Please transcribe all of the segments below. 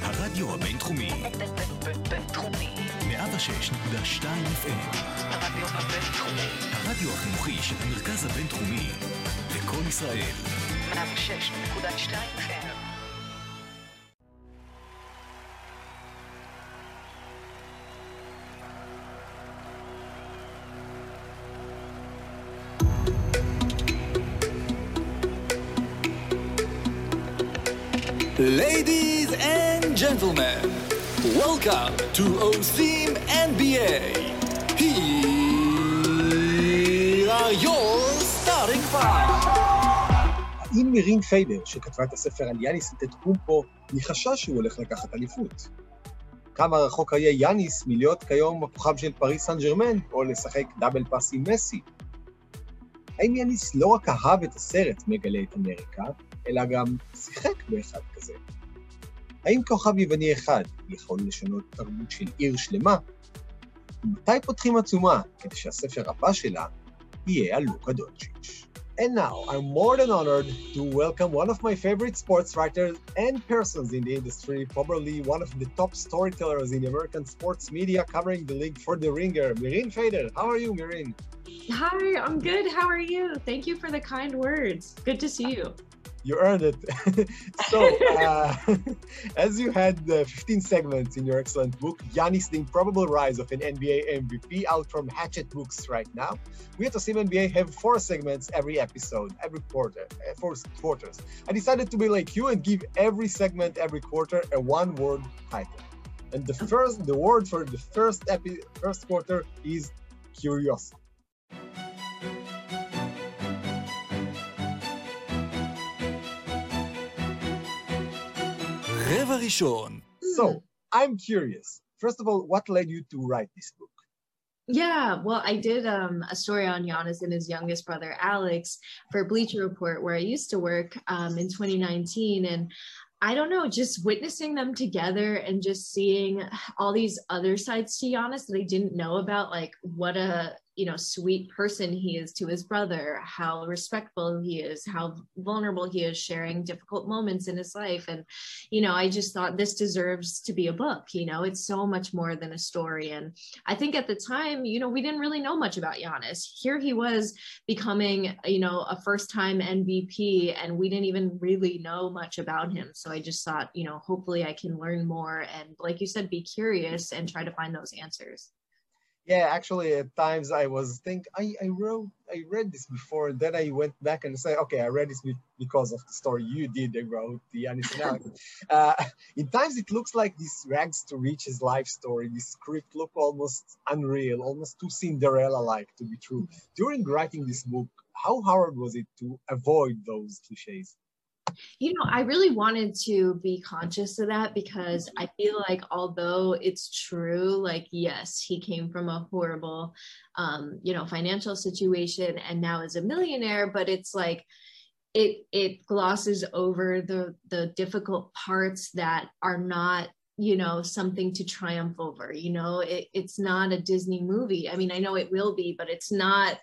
הרדיו הבינתחומי. בינתחומי. 106.2 FM. הרדיו הבינתחומי. הרדיו החינוכי של המרכז הבינתחומי. לקול ישראל. 106.2 FM. Ladies and gentlemen, welcome to OSIM NBA. Here are your starting five. האם מירין פיידר, שכתבה את הספר על יאניס אנטטוקומפו, ניחשה שהוא הולך לקחת אליפות? כמה רחוק היה יאניס מלהיות כיום הכוכב של פריס סן ז'רמן, או לשחק דאבל פאס עם מסי? האם יאניס לא רק אהב את הסרט מגלה את אמריקה, אלא גם שיחק באחד כזה? האם כוכב יווני אחד יכול לשנות תרבות של עיר שלמה? ומתי פותחים עצומה כדי שהספר הבא שלה יהיה על לוקה דונצ'יץ'? And now, I'm more than honored to welcome one of my favorite sports writers and persons in the industry, probably one of the top storytellers in American sports media covering the league for The Ringer, Mirin Feder. How are you, Mirin? Hi, I'm good. How are you? Thank you for the kind words. Good to see you. You earned it. So, as you had 15 segments in your excellent book, Giannis, The Improbable Rise of an NBA MVP, out from Hatchet Books right now, we at OSIM NBA have 4 segments every episode, every quarter, 4 quarters. I decided to be like you and give every segment, every quarter, a one-word title. And the word for the first quarter is curiosity. רבע ראשון. So, I'm curious. First of all, what led you to write this book? Yeah, well, I did a story on Giannis and his youngest brother, Alex, for Bleacher Report, where I used to work in 2019. And I don't know, just witnessing them together and just seeing all these other sides to Giannis that I didn't know about, like what a sweet person he is to his brother, how respectful he is, how vulnerable he is sharing difficult moments in his life. And, I just thought this deserves to be a book. It's so much more than a story. And I think at the time, we didn't really know much about Giannis. Here he was becoming, a first-time MVP, and we didn't even really know much about him. So I just thought, hopefully I can learn more and, like you said, be curious and try to find those answers. Yeah, actually, at times I was thinking, I read this before, and then I went back and said, okay, I read this because of the story you did about the Giannis and Alex. In times it looks like this rags to riches life story. This script looked almost unreal, almost too Cinderella-like to be true. During writing this book, how hard was it to avoid those cliches? I really wanted to be conscious of that because I feel like although it's true, like, yes, he came from a horrible, financial situation and now is a millionaire, but it's like, it glosses over the difficult parts that are not, something to triumph over. It's not a Disney movie. I mean, I know it will be, but it's not,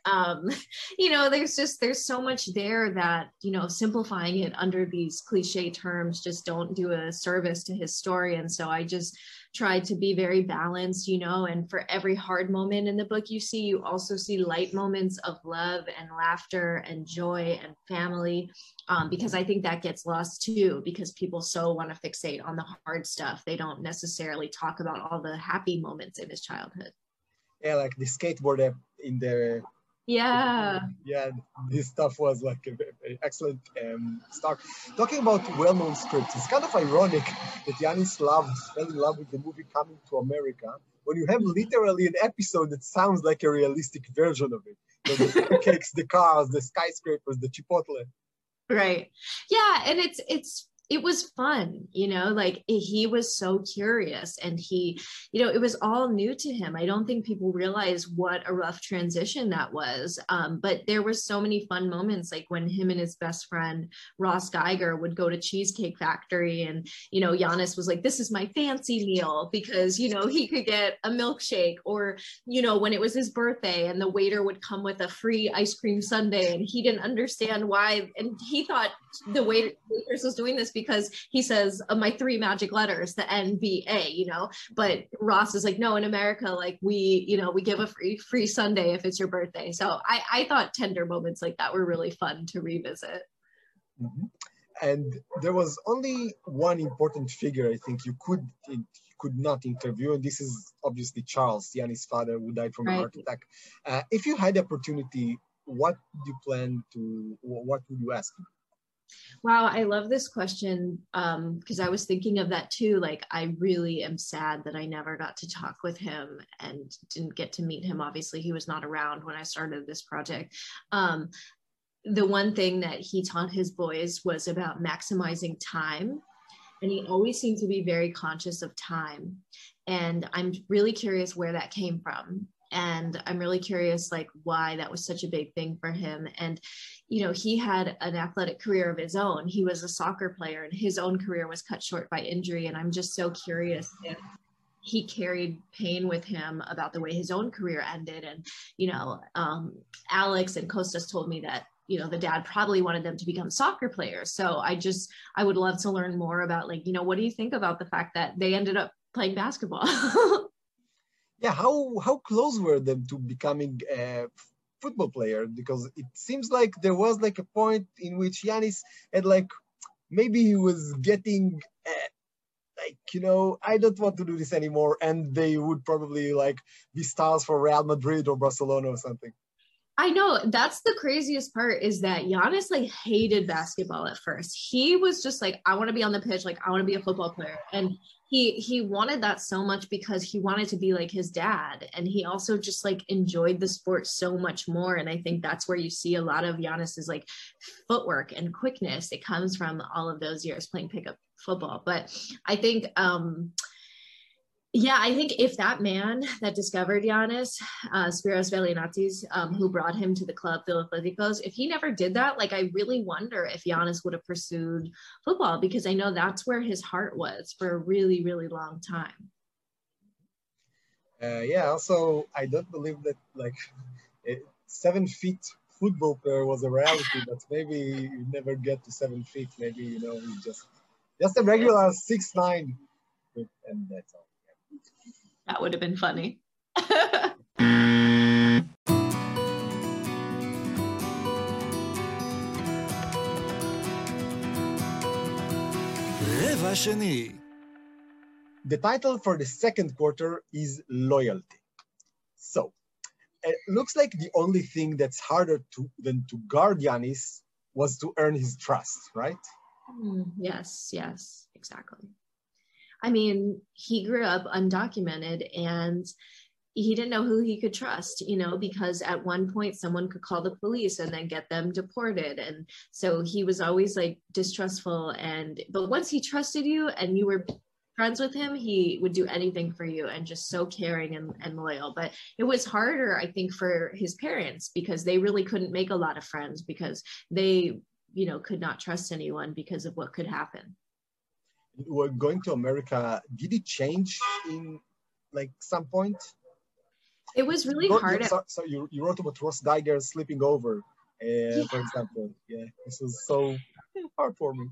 there's so much there that, simplifying it under these cliche terms just don't do a service to his story. And so I just tried to be very balanced, and for every hard moment in the book you also see light moments of love and laughter and joy and family, because I think that gets lost too, because people so want to fixate on the hard stuff. They don't necessarily talk about all the happy moments in his childhood. Yeah, like the skateboard in the... Yeah, this stuff was like an excellent start. Talking about well-known scripts, it's kind of ironic that Giannis fell in love with the movie Coming to America when you have literally an episode that sounds like a realistic version of it. The pancakes, the cars, the skyscrapers, the Chipotle. Right. Yeah, and it was fun, like he was so curious and he, it was all new to him. I don't think people realize what a rough transition that was. But there were so many fun moments, like when him and his best friend, Ross Geiger, would go to Cheesecake Factory and, Giannis was like, this is my fancy meal because, he could get a milkshake or, when it was his birthday and the waiter would come with a free ice cream sundae and he didn't understand why. And he thought the waitress was doing this because he says my 3 magic letters, the NBA, you know, but Ross is like, no, in America, like we give a free Sunday if it's your birthday. So I thought tender moments like that were really fun to revisit. Mm-hmm. And there was only one important figure I think you could not interview, and this is obviously Charles, Giannis' father, who died from a heart attack. If you had the opportunity, what would you ask him? Wow, I love this question because I was thinking of that too. Like, I really am sad that I never got to talk with him and didn't get to meet him. Obviously, he was not around when I started this project. The one thing that he taught his boys was about maximizing time. And he always seemed to be very conscious of time. And I'm really curious where that came from. And I'm really curious, like, why that was such a big thing for him. And, you know, he had an athletic career of his own. He was a soccer player, and his own career was cut short by injury. And I'm just so curious if he carried pain with him about the way his own career ended. And, you know, Alex and Kostas told me that, you know, the dad probably wanted them to become soccer players. So I would love to learn more about, like, you know, what do you think about the fact that they ended up playing basketball? Yeah, how close were them to becoming a football player? Because it seems like there was like a point in which Giannis had like, maybe he was getting like, you know, I don't want to do this anymore. And they would probably like be stars for Real Madrid or Barcelona or something. I know, that's the craziest part, is that Giannis like hated basketball at first. He was just like, I want to be on the pitch, like I want to be a football player. And he wanted that so much because he wanted to be like his dad. And he also just like enjoyed the sport so much more. And I think that's where you see a lot of Giannis's like footwork and quickness. It comes from all of those years playing pickup football. But I think, yeah, I think if that man that discovered Giannis, Spiros Velianatis, who brought him to the club, Philadelphos, if he never did that, like, I really wonder if Giannis would have pursued football, because I know that's where his heart was for a really, really long time. Yeah, also, I don't believe that, like, 7 feet football player was a reality, but maybe you never get to 7 feet. Maybe, you know, just a regular 6'9", and that's all. That would have been funny. רבע שני. The title for the second quarter is Loyalty. So, it looks like the only thing that's harder than to guard Giannis was to earn his trust, right? Yes, exactly. I mean, he grew up undocumented and he didn't know who he could trust, you know, because at one point someone could call the police and then get them deported. And so he was always like distrustful. But once he trusted you and you were friends with him, he would do anything for you, and just so caring and loyal. But it was harder, I think, for his parents, because they really couldn't make a lot of friends, because they, you know, could not trust anyone because of what could happen. We're going to America. Did it change in like some point? It was really hard. So you wrote about Ross Geiger sleeping over, for example. Yeah, this was so heartwarming.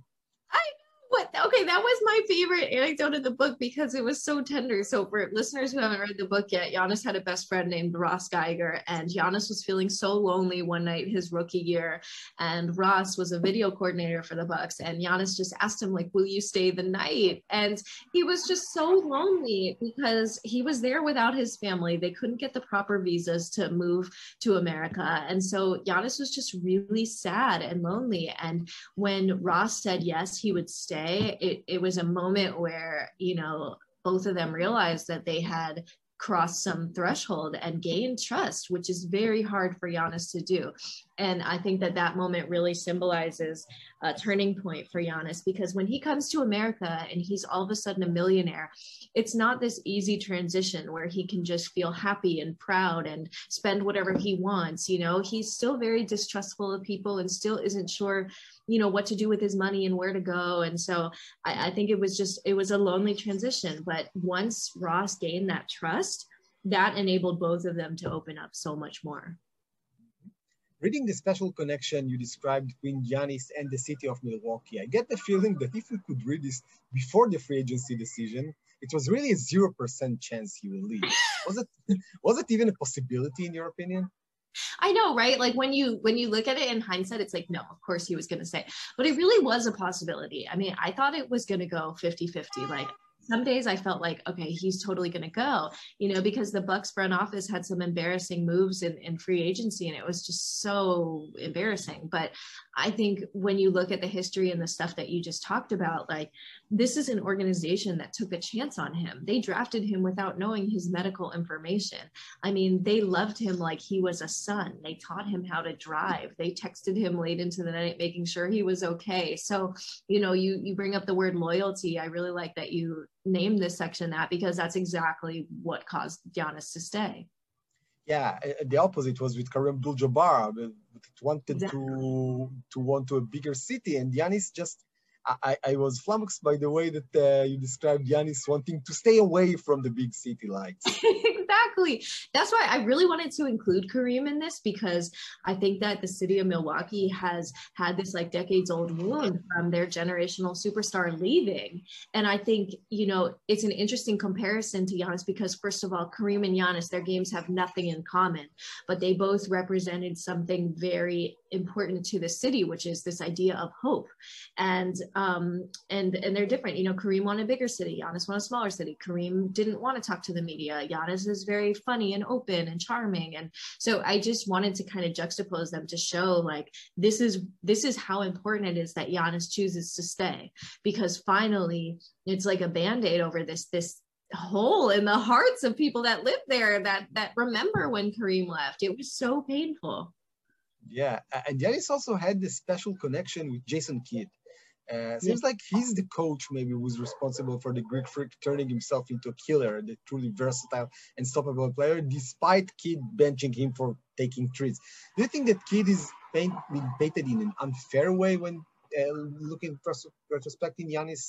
Okay, that was my favorite anecdote of the book because it was so tender. So for listeners who haven't read the book yet, Giannis had a best friend named Ross Geiger, and Giannis was feeling so lonely one night his rookie year, and Ross was a video coordinator for the Bucks, and Giannis just asked him, like, will you stay the night? And he was just so lonely because he was there without his family. They couldn't get the proper visas to move to America, and so Giannis was just really sad and lonely. And when Ross said yes, he would stay, it was a moment where, you know, both of them realized that they had crossed some threshold and gained trust, which is very hard for Giannis to do. And I think that moment really symbolizes a turning point for Giannis, because when he comes to America and he's all of a sudden a millionaire, it's not this easy transition where he can just feel happy and proud and spend whatever he wants. You know, he's still very distrustful of people and still isn't sure, you know, what to do with his money and where to go. And so I think it was a lonely transition. But once Ross gained that trust, that enabled both of them to open up so much more. Reading the special connection you described between Giannis and the city of Milwaukee, I get the feeling that if we could read this before the free agency decision, it was really a 0% chance he will leave. Was it even a possibility in your opinion? I know, right? Like when you look at it in hindsight, it's like, no, of course he was going to say, but it really was a possibility. I mean, I thought it was going to go 50-50. Like some days I felt like, okay, he's totally going to go, because the Bucks front office had some embarrassing moves in free agency, and it was just so embarrassing. But I think when you look at the history and the stuff that you just talked about, like this is an organization that took a chance on him. They drafted him without knowing his medical information. I mean, they loved him like he was a son. They taught him how to drive. They texted him late into the night, making sure he was okay. So, you bring up the word loyalty. I really like that you name this section that, because that's exactly what caused Giannis to stay. Yeah, the opposite was with Kareem Abdul-Jabbar. It wanted to want to a bigger city, and Giannis just. I was flummoxed by the way that you described Giannis wanting to stay away from the big city lights. Exactly. That's why I really wanted to include Kareem in this, because I think that the city of Milwaukee has had this like decades old wound from their generational superstar leaving. And I think, it's an interesting comparison to Giannis because first of all, Kareem and Giannis, their games have nothing in common, but they both represented something very important to the city, which is this idea of hope. And they're different. Kareem wanted a bigger city. Giannis wanted a smaller city. Kareem didn't want to talk to the media. Giannis is very funny and open and charming. And so I just wanted to kind of juxtapose them to show like, this is how important it is that Giannis chooses to stay, because finally it's like a Band-Aid over this hole in the hearts of people that live there that remember when Kareem left. It was so painful. Yeah. And Giannis also had this special connection with Jason Kidd. Seems like he's the coach maybe who's responsible for the Greek Freak turning himself into a killer, the truly versatile and stoppable player, despite Kidd benching him for taking threes. Do you think that Kidd is being painted in an unfair way when looking retrospecting Giannis'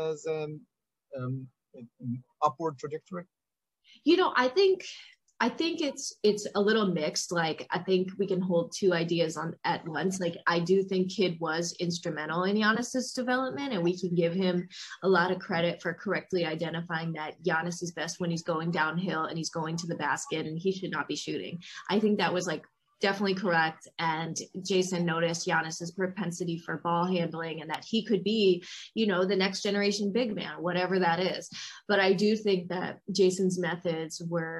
upward trajectory? I think it's a little mixed. Like, I think we can hold two ideas at once. Like, I do think Kidd was instrumental in Giannis's development, and we can give him a lot of credit for correctly identifying that Giannis is best when he's going downhill and he's going to the basket and he should not be shooting. I think that was like definitely correct. And Jason noticed Giannis's propensity for ball handling and that he could be, the next generation big man, whatever that is. But I do think that Jason's methods were,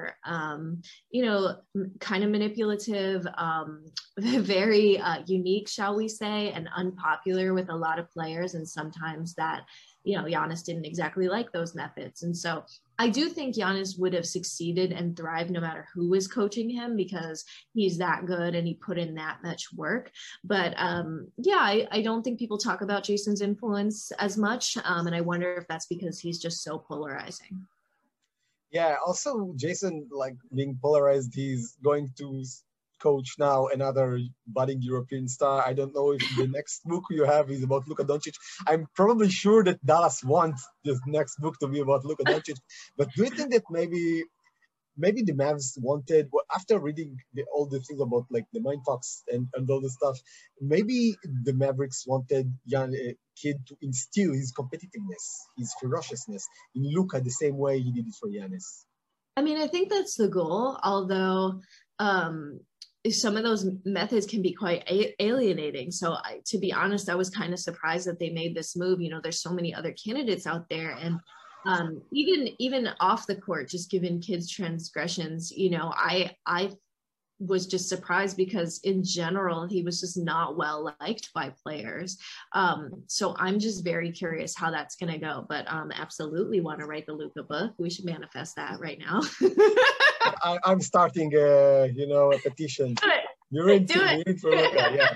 kind of manipulative, very unique, shall we say, and unpopular with a lot of players. And sometimes that, Giannis didn't exactly like those methods. And so I do think Giannis would have succeeded and thrived no matter who was coaching him, because he's that good and he put in that much work. But I don't think people talk about Jason's influence as much. And I wonder if that's because he's just so polarizing. Yeah, also Jason, like being polarized, he's going to coach now another budding European star. I don't know if the next book you have is about Luka Doncic. I'm probably sure that Dallas wants this next book to be about Luka Doncic. But do you think that maybe the Mavs wanted, after reading all the things about like the Mindfucks and all the stuff, maybe the Mavericks wanted Kidd to instill his competitiveness, his ferociousness in Luka the same way he did it for Giannis? I mean, I think that's the goal, although some of those methods can be quite alienating. So to be honest, I was kind of surprised that they made this move. There's so many other candidates out there. And even off the court, just given Kidd's transgressions, I was just surprised because in general, he was just not well liked by players. So I'm just very curious how that's going to go, but absolutely want to write the Luka book. We should manifest that right now. I'm starting, a petition. You're in for Luka, yeah.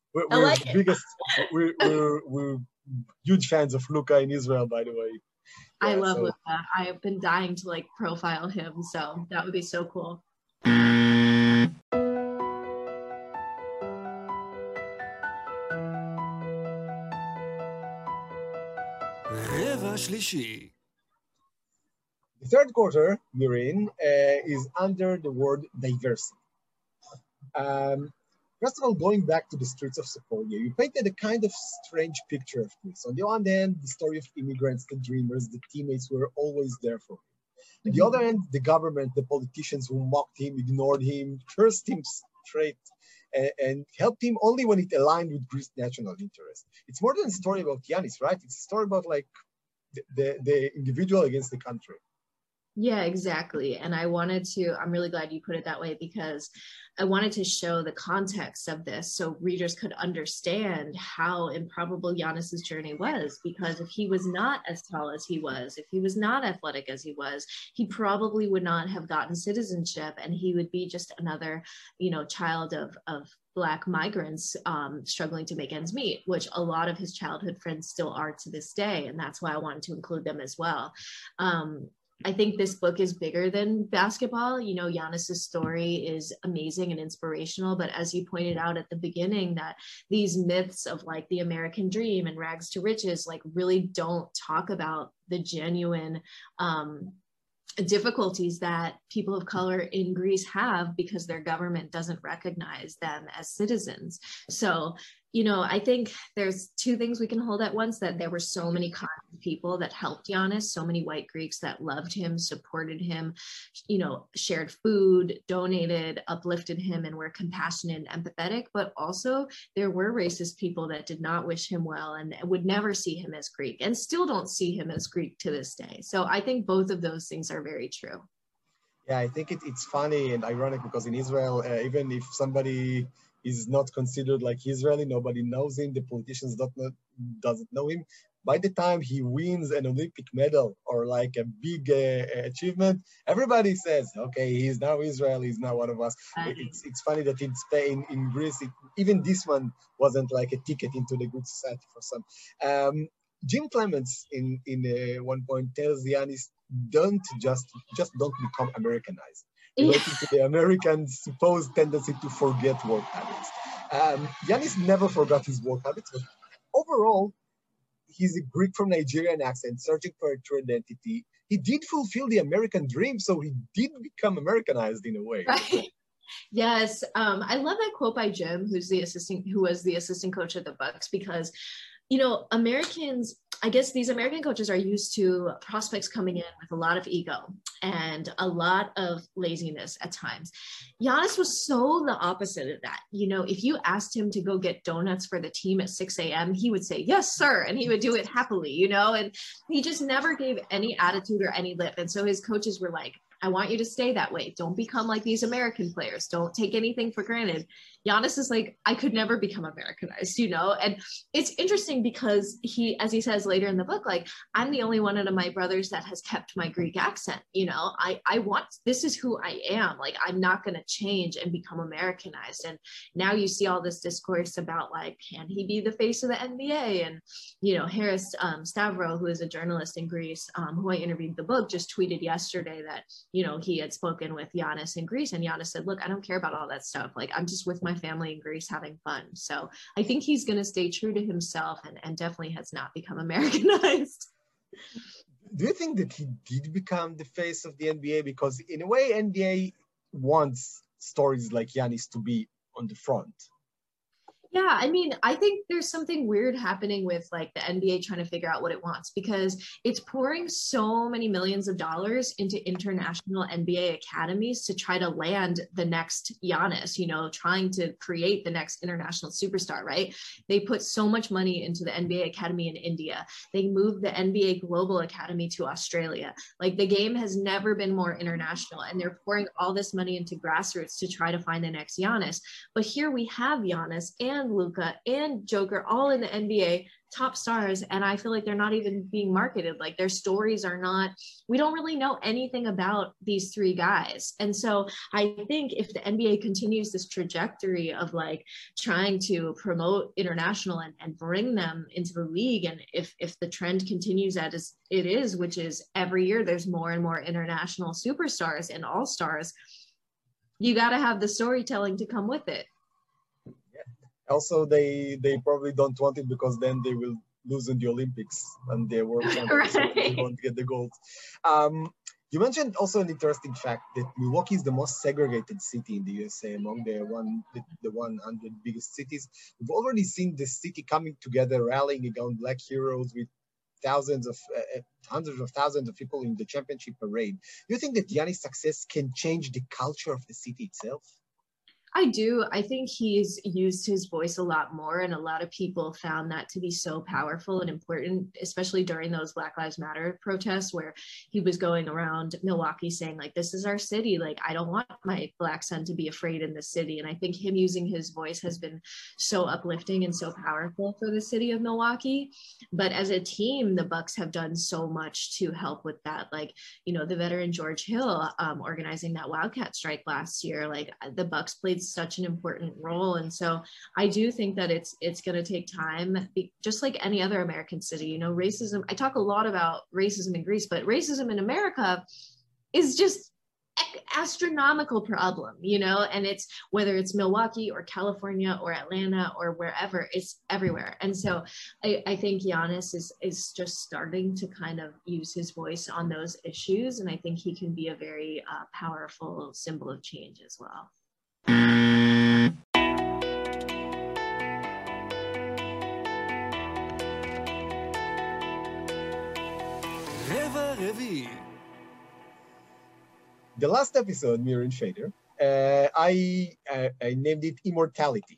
We're huge fans of Luka in Israel, by the way. Yeah, I love Luka. I have been dying to profile him, so that would be so cool. רבע שלישי. The third quarter we're in is under the word diversity. First of all, going back to the streets of Sepolia, you painted a kind of strange picture of Greece. On the one hand, the story of immigrants, the dreamers, the teammates who were always there for him. On the other hand, the government, the politicians who mocked him, ignored him, cursed him straight, and helped him only when it aligned with Greece's national interest. It's more than a story about Giannis, right? It's a story about like the individual against the country. Yeah, exactly. And I'm really glad you put it that way, because I wanted to show the context of this so readers could understand how improbable Giannis's journey was. Because if he was not as tall as he was, if he was not athletic as he was, he probably would not have gotten citizenship, and he would be just another, child of Black migrants struggling to make ends meet, which a lot of his childhood friends still are to this day. And that's why I wanted to include them as well. I think this book is bigger than basketball. Giannis's story is amazing and inspirational, but as you pointed out at the beginning, that these myths of like the American dream and rags to riches, like really don't talk about the genuine difficulties that people of color in Greece have because their government doesn't recognize them as citizens. So, I think there's two things we can hold at once: that there were so many kind people that helped Giannis, so many white Greeks that loved him, supported him, shared food, donated, uplifted him, and were compassionate and empathetic. But also there were racist people that did not wish him well and would never see him as Greek, and still don't see him as Greek to this day. So I think both of those things are very true. Yeah, I think it's funny and ironic because in Israel, even if somebody is not considered like Israeli, nobody knows him, the politicians doesn't know him. By the time he wins an Olympic medal or like a big achievement, everybody says, okay, he's now Israeli, he's now one of us. It's funny that in Greece, even this one wasn't like a ticket into the good society for some. Jim Clements in one point tells Giannis, don't become Americanized, relating to the American supposed tendency to forget work habits. Giannis never forgot his work habits, but overall, he's a Greek from Nigerian accent, searching for a true identity. He did fulfill the American dream, so he did become Americanized in a way. Right. Yes, I love that quote by Jim, who was the assistant coach of the Bucks, because Americans, I guess these American coaches are used to prospects coming in with a lot of ego and a lot of laziness at times. Giannis was so the opposite of that. If you asked him to go get donuts for the team at 6 a.m., he would say, yes, sir. And he would do it happily, and he just never gave any attitude or any lip. And so his coaches were like, I want you to stay that way. Don't become like these American players. Don't take anything for granted. Giannis is like, I could never become Americanized, And it's interesting because he, as he says later in the book, like, I'm the only one of my brothers that has kept my Greek accent. This is who I am. Like, I'm not going to change and become Americanized. And now you see all this discourse about like, can he be the face of the NBA? And, Harris Stavro, who is a journalist in Greece, who I interviewed the book, just tweeted yesterday that, he had spoken with Giannis in Greece, and Giannis said, look, I don't care about all that stuff. Like, I'm just with my family in Greece having fun. So I think he's going to stay true to himself and definitely has not become Americanized. Do you think that he did become the face of the NBA? Because in a way, NBA wants stories like Giannis to be on the front. Yeah, I mean, I think there's something weird happening with like the NBA trying to figure out what it wants, because it's pouring so many millions of dollars into international NBA academies to try to land the next Giannis, you know, trying to create the next international superstar, right? They put so much money into the NBA Academy in India. They moved the NBA Global Academy to Australia. Like, the game has never been more international, and they're pouring all this money into grassroots to try to find the next Giannis. But here we have Giannis and Luka and Joker all in the NBA, top stars, and I feel like they're not even being marketed. Like, their stories are not, we don't really know anything about these three guys. And so I think if the NBA continues this trajectory of like trying to promote international and bring them into the league, and if the trend continues as it is, which is every year there's more and more international superstars and all-stars, you got to have the storytelling to come with it. Also, they probably don't want it, because then they will lose in the Olympics and the World Championships. Right. They won't get the gold. You mentioned also an interesting fact that Milwaukee is the most segregated city in the USA among the 100 biggest cities. We've already seen the city coming together, rallying around Black heroes with hundreds of thousands of people in the championship parade. Do you think that Giannis' success can change the culture of the city itself? I do. I think he's used his voice a lot more, and a lot of people found that to be so powerful and important, especially during those Black Lives Matter protests where he was going around Milwaukee saying, like, this is our city. Like, I don't want my Black son to be afraid in the city. And I think him using his voice has been so uplifting and so powerful for the city of Milwaukee. But as a team, the Bucks have done so much to help with that. Like, you know, the veteran George Hill organizing that Wildcat strike last year, like the Bucks played such an important role. And so I do think that it's going to take time, just like any other American city. You know, racism, I talk a lot about racism in Greece, but racism in America is just astronomical problem, you know, and it's whether it's Milwaukee or California or Atlanta or wherever, it's everywhere. And so I think Giannis is just starting to kind of use his voice on those issues. And I think he can be a very powerful symbol of change as well. רבע רביעי. The last episode, Mir and Fader, I named it Immortality.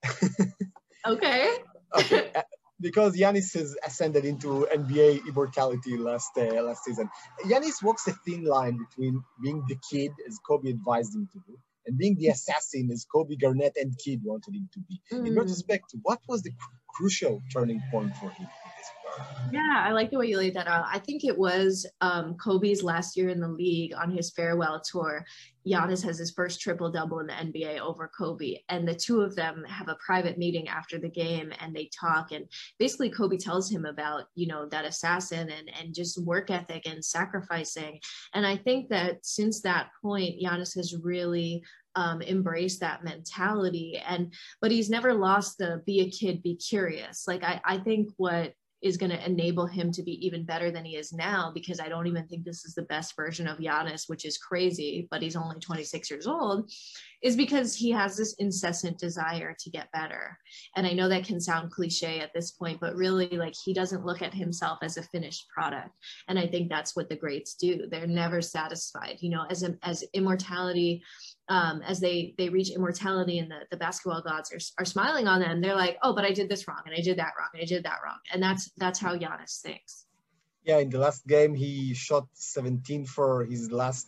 Okay. Okay. Because Giannis has ascended into NBA immortality last season. Giannis walks a thin line between being the kid, as Kobe advised him to do, and being the assassin, as Kobe, Garnett, and Kidd wanted him to be. In retrospect, what was the crucial turning point for him in this regard? Yeah, I like the way you laid that out. I think it was Kobe's last year in the league on his farewell tour. Giannis has his first triple-double in the NBA over Kobe, and the two of them have a private meeting after the game, and they talk, and basically Kobe tells him about, you know, that assassin and just work ethic and sacrificing. And I think that since that point, Giannis has really embraced that mentality, but he's never lost the be a kid, be curious. Like I think what is going to enable him to be even better than he is now, because I don't even think this is the best version of Giannis, which is crazy, but he's only 26 years old, is because he has this incessant desire to get better. And I know that can sound cliche at this point, but really, like, he doesn't look at himself as a finished product. And I think that's what the greats do. They're never satisfied, you know, as immortality, as they reach immortality and the basketball gods are smiling on them, they're like, oh, but I did this wrong and I did that wrong and I did that wrong. And that's how Giannis thinks. Yeah, in the last game, he shot 17 for his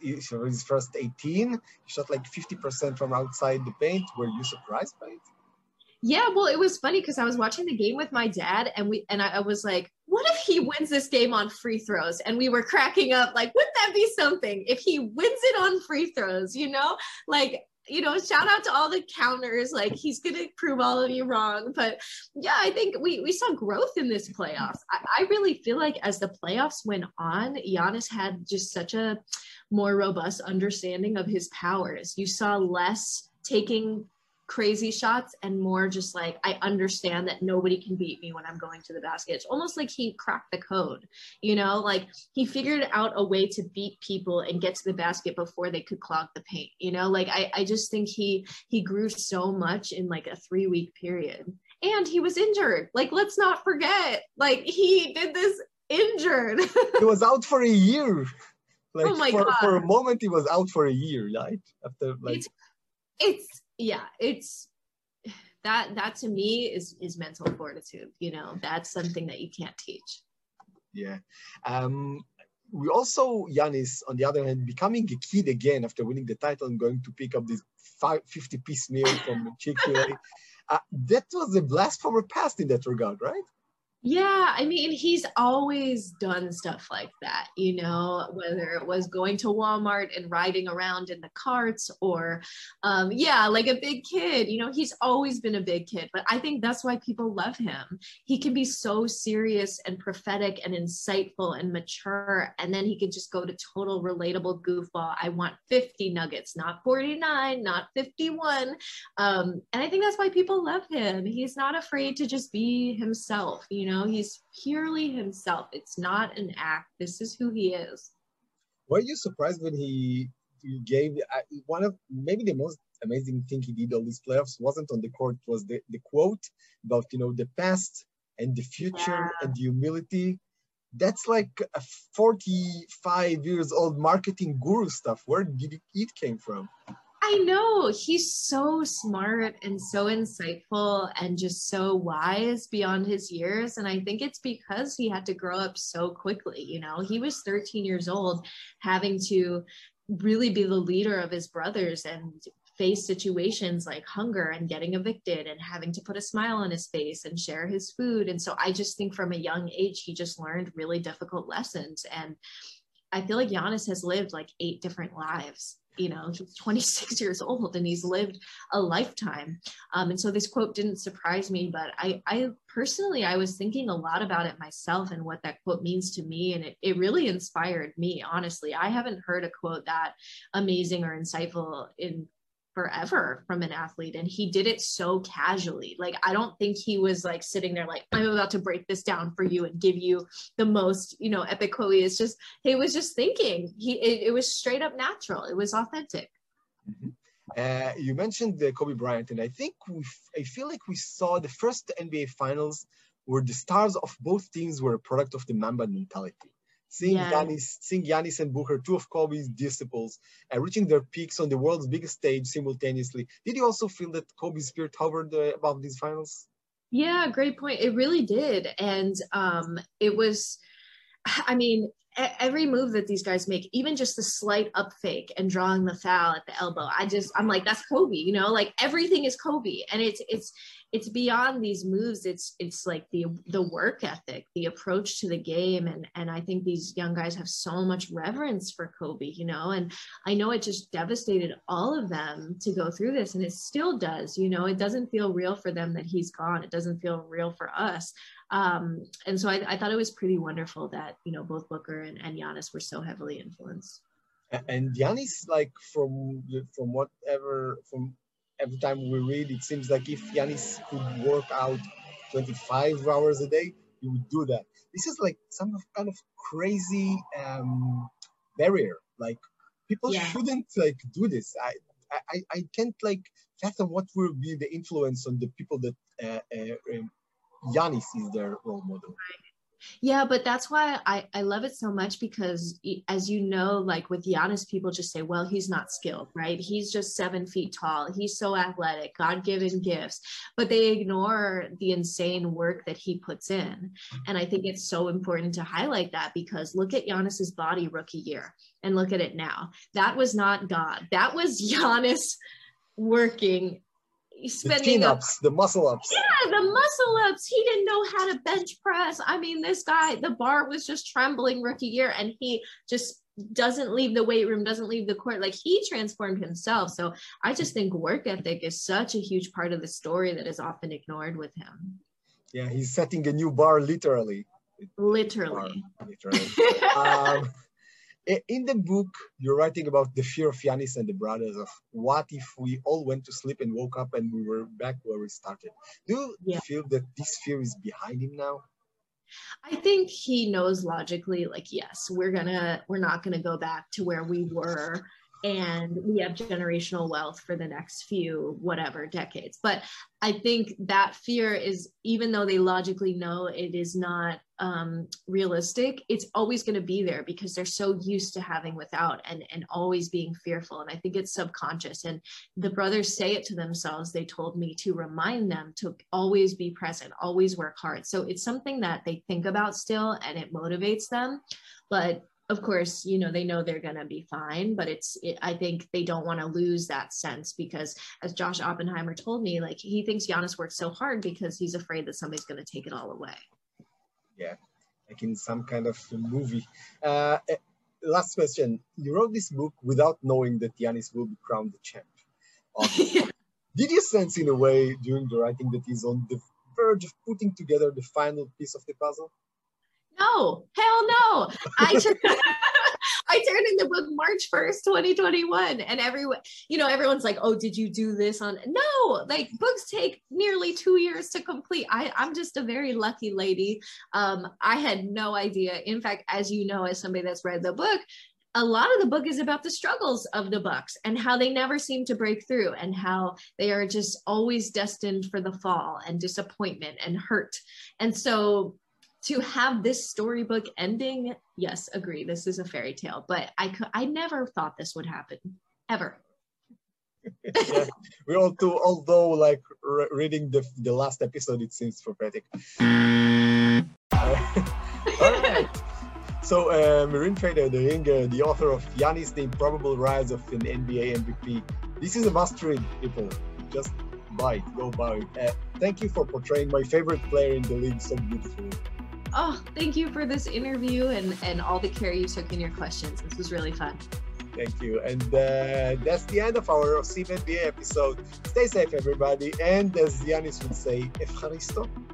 first 18. He shot like 50% from outside the paint. Were you surprised by it? Yeah, well, it was funny because I was watching the game with my dad, and I was like, what if he wins this game on free throws? And we were cracking up, like, wouldn't that be something if he wins it on free throws, you know? Like, you know, shout out to all the counters, like, he's going to prove all of you wrong. But yeah, I think we saw growth in this playoffs. I really feel like as the playoffs went on, Giannis had just such a more robust understanding of his powers. You saw less taking crazy shots and more just like, I understand that nobody can beat me when I'm going to the basket. It's almost like he cracked the code, you know, like he figured out a way to beat people and get to the basket before they could clog the paint, you know, like I just think he grew so much in like a 3-week period. And he was injured. Like, let's not forget, like, he did this injured. He was out for a year. Like, oh my God. For a moment, he was out for a year, right? After, like, it's that to me is mental fortitude, you know. That's something that you can't teach. Yeah. We also, Giannis, on the other hand, becoming a kid again after winning the title and going to pick up this 50-piece meal from Chick-fil-A. That was a blast from her past in that regard, right? Yeah, I mean, he's always done stuff like that, you know, whether it was going to Walmart and riding around in the carts or, like a big kid, you know, he's always been a big kid. But I think that's why people love him. He can be so serious and prophetic and insightful and mature. And then he could just go to total relatable goofball. I want 50 nuggets, not 49, not 51. And I think that's why people love him. He's not afraid to just be himself, you know. know, he's purely himself. It's not an act. This is who he is. Were you surprised when he gave one of maybe the most amazing thing he did all these playoffs wasn't on the court, was the quote about, the past and the future and the humility. That's like a 45 years old marketing guru stuff. Where did it came from? I know, he's so smart and so insightful and just so wise beyond his years. And I think it's because he had to grow up so quickly. He was 13 years old, having to really be the leader of his brothers and face situations like hunger and getting evicted and having to put a smile on his face and share his food. And so I just think from a young age, he just learned really difficult lessons. And I feel like Giannis has lived like 8 different lives. He's 26 years old and he's lived a lifetime. And so this quote didn't surprise me, but I personally, I was thinking a lot about it myself and what that quote means to me. And it really inspired me, honestly. I haven't heard a quote that amazing or insightful in forever from an athlete, and he did it so casually. Like, I don't think he was like sitting there like, I'm about to break this down for you and give you the most epic quote. It's just, he was just thinking. It was straight up natural. It was authentic. Mm-hmm. You mentioned Kobe Bryant, and I feel like we saw the first NBA Finals where the stars of both teams were a product of the Mamba mentality. Seeing Giannis and Booker, 2 of Kobe's disciples, reaching their peaks on the world's biggest stage simultaneously. Did you also feel that Kobe's spirit hovered above these finals? Yeah, great point. It really did. And it was, every move that these guys make, even just the slight up fake and drawing the foul at the elbow, I'm like, that's Kobe, like everything is Kobe. And it's beyond these moves. It's like the work ethic, the approach to the game. And I think these young guys have so much reverence for Kobe, and I know it just devastated all of them to go through this, and it still does. It doesn't feel real for them that he's gone. It doesn't feel real for us. And so I thought it was pretty wonderful that, both Booker and Giannis were so heavily influenced. And Giannis, like from every time we read, it seems like if Giannis could work out 25 hours a day, he would do that. This is like some kind of crazy barrier. Like, people shouldn't like do this. I can't like fathom what will be the influence on the people that Giannis is their role model. Yeah, but that's why I love it so much, because as you know, like with Giannis, people just say, well, he's not skilled, right? He's just 7 feet tall. He's so athletic, God-given gifts, but they ignore the insane work that he puts in. And I think it's so important to highlight that, because look at Giannis's body rookie year and look at it now. That was not God. That was Giannis working, spending the chin-ups, the muscle ups. Yeah, the muscle ups. He didn't know how to bench press. This guy, the bar was just trembling rookie year, and he just doesn't leave the weight room, doesn't leave the court. Like, he transformed himself. So I just think work ethic is such a huge part of the story that is often ignored with him. Yeah, he's setting a new bar, literally. Literally. In the book, you're writing about the fear of Giannis and the brothers, of what if we all went to sleep and woke up and we were back where we started. Do you feel that this fear is behind him now? I think he knows logically, like, yes, we're not gonna go back to where we were, and we have generational wealth for the next few decades. But I think that fear is, even though they logically know it is not realistic, it's always going to be there, because they're so used to having without and always being fearful. And I think it's subconscious. And the brothers say it to themselves. They told me to remind them to always be present, always work hard. So it's something that they think about still, and it motivates them. But of course, they know they're going to be fine, but I think they don't want to lose that sense, because as Josh Oppenheimer told me, like, he thinks Giannis works so hard because he's afraid that somebody's going to take it all away. Yeah, like in some kind of movie. Last question. You wrote this book without knowing that Giannis will be crowned the champ. Did you sense in a way during the writing that he's on the verge of putting together the final piece of the puzzle? No, hell no. I turned in the book March 1st, 2021. And everyone's like, oh, did you do this on? No, like books take nearly 2 years to complete. I'm just a very lucky lady. I had no idea. In fact, as you know, as somebody that's read the book, a lot of the book is about the struggles of the Bucks and how they never seem to break through and how they are just always destined for the fall and disappointment and hurt. And so to have this storybook ending, yes, agree, this is a fairy tale, but I never thought this would happen, ever. Yeah, we all too, although like reading the last episode, it seems prophetic. All right. So, Mirin Fader, the ringer, the author of Giannis, the Improbable Rise of an NBA MVP. This is a must-read, people. Just buy it, go buy it. Thank you for portraying my favorite player in the league so beautifully. Oh, thank you for this interview and all the care you took in your questions. This was really fun. Thank you. And that's the end of our Sim NBA episode. Stay safe, everybody. And as Giannis would say, Efcharisto.